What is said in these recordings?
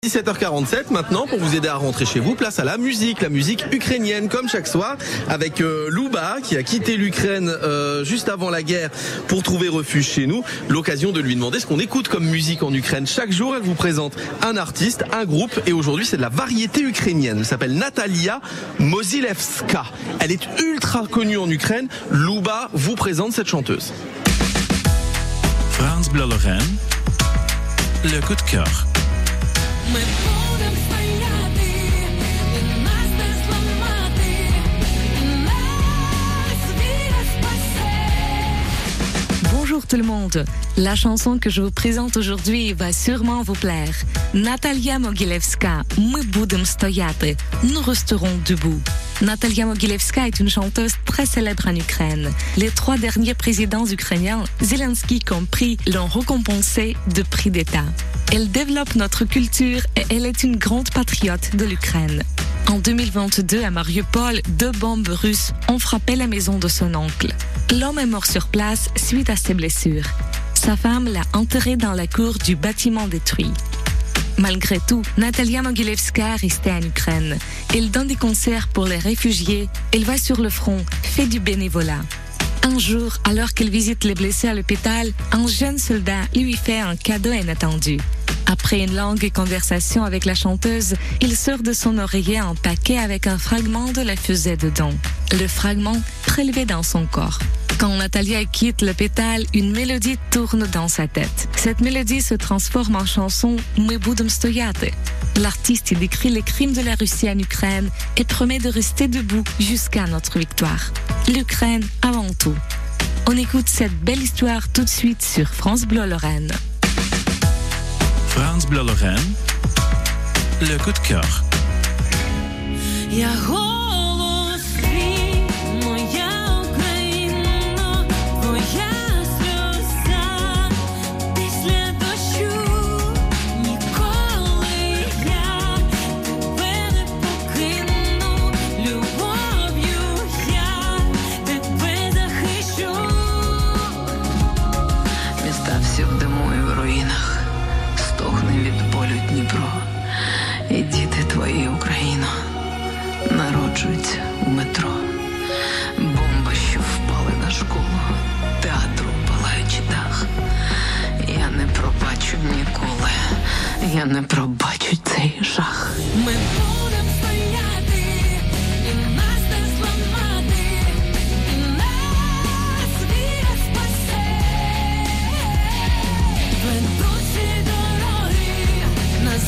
17h47 maintenant, pour vous aider à rentrer chez vous, place à la musique ukrainienne comme chaque soir avec Louba qui a quitté l'Ukraine juste avant la guerre pour trouver refuge chez nous. L'occasion de lui demander ce qu'on écoute comme musique en Ukraine. Chaque jour elle vous présente un artiste, un groupe, et aujourd'hui c'est de la variété ukrainienne. Elle s'appelle Natalia Mogilevska. Elle est ultra connue en Ukraine. Louba vous présente cette chanteuse. France Bleu Lorraine, le coup de cœur. Bonjour tout le monde, la chanson que je vous présente aujourd'hui va sûrement vous plaire. Natalia Mogilevska, My budem stoяти, nous resterons debout. Natalia Mogilevska est une chanteuse très célèbre en Ukraine. Les 3 derniers présidents ukrainiens, Zelensky compris, l'ont récompensée de prix d'État. Elle développe notre culture et elle est une grande patriote de l'Ukraine. En 2022, à Mariupol, 2 bombes russes ont frappé la maison de son oncle. L'homme est mort sur place suite à ses blessures. Sa femme l'a enterré dans la cour du bâtiment détruit. Malgré tout, Natalia Mogilevska est restée en Ukraine. Elle donne des concerts pour les réfugiés, elle va sur le front, fait du bénévolat. Un jour, alors qu'elle visite les blessés à l'hôpital, un jeune soldat lui fait un cadeau inattendu. Après une longue conversation avec la chanteuse, il sort de son oreiller un paquet avec un fragment de la fusée dedans. Le fragment prélevé dans son corps. Quand Natalia quitte l'hôpital, une mélodie tourne dans sa tête. Cette mélodie se transforme en chanson My budem stoяти. L'artiste y décrit les crimes de la Russie en Ukraine et promet de rester debout jusqu'à notre victoire. L'Ukraine avant tout. On écoute cette belle histoire tout de suite sur France Bleu Lorraine. France Bleu Lorraine, le coup de cœur. І діти твої, Україно, народжуються у метро. Бомби, що впали на школу, театру палаючи дах. Я не пробачу ніколи, я не пробачу цей жах. Ми будем стояти, і нас не зламати, і нас віра спасе. Ведучі дороги, нас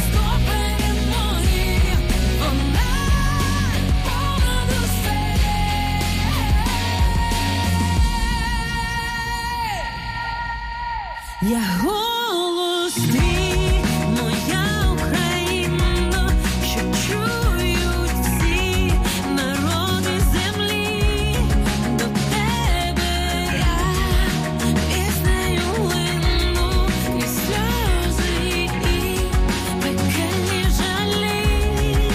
я голос твій, моя Україно, що чують всі народи землі. До тебе я піснею лину, і сльози, і пекельні жалі.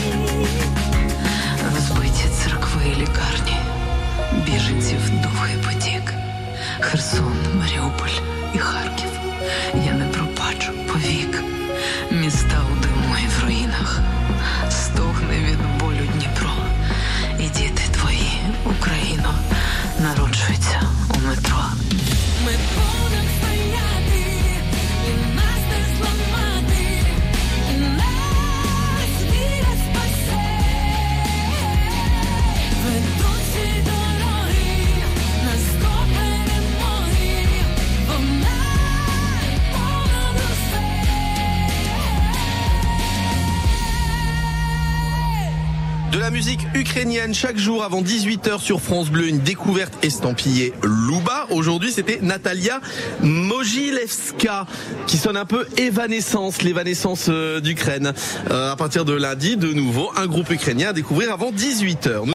Розбиті церкви і лікарні, біженців довгий потік, Херсон, Маріуполь і Харків. Я не пробачу повік. Міста у диму і в руїнах, стогне від болю Дніпро. І діти твої, Україно, народжуються у метро. Ми будем стояти, і нас не зламати, і нас віра спасе. Ведучі дороги, нас до перемоги, вона de la musique ukrainienne chaque jour avant 18h sur France Bleu, une découverte estampillée Louba. Aujourd'hui, c'était Natalia Mogilevska qui sonne un peu Evanescence, l'évanescence d'Ukraine. À partir de lundi, de nouveau, un groupe ukrainien à découvrir avant 18h.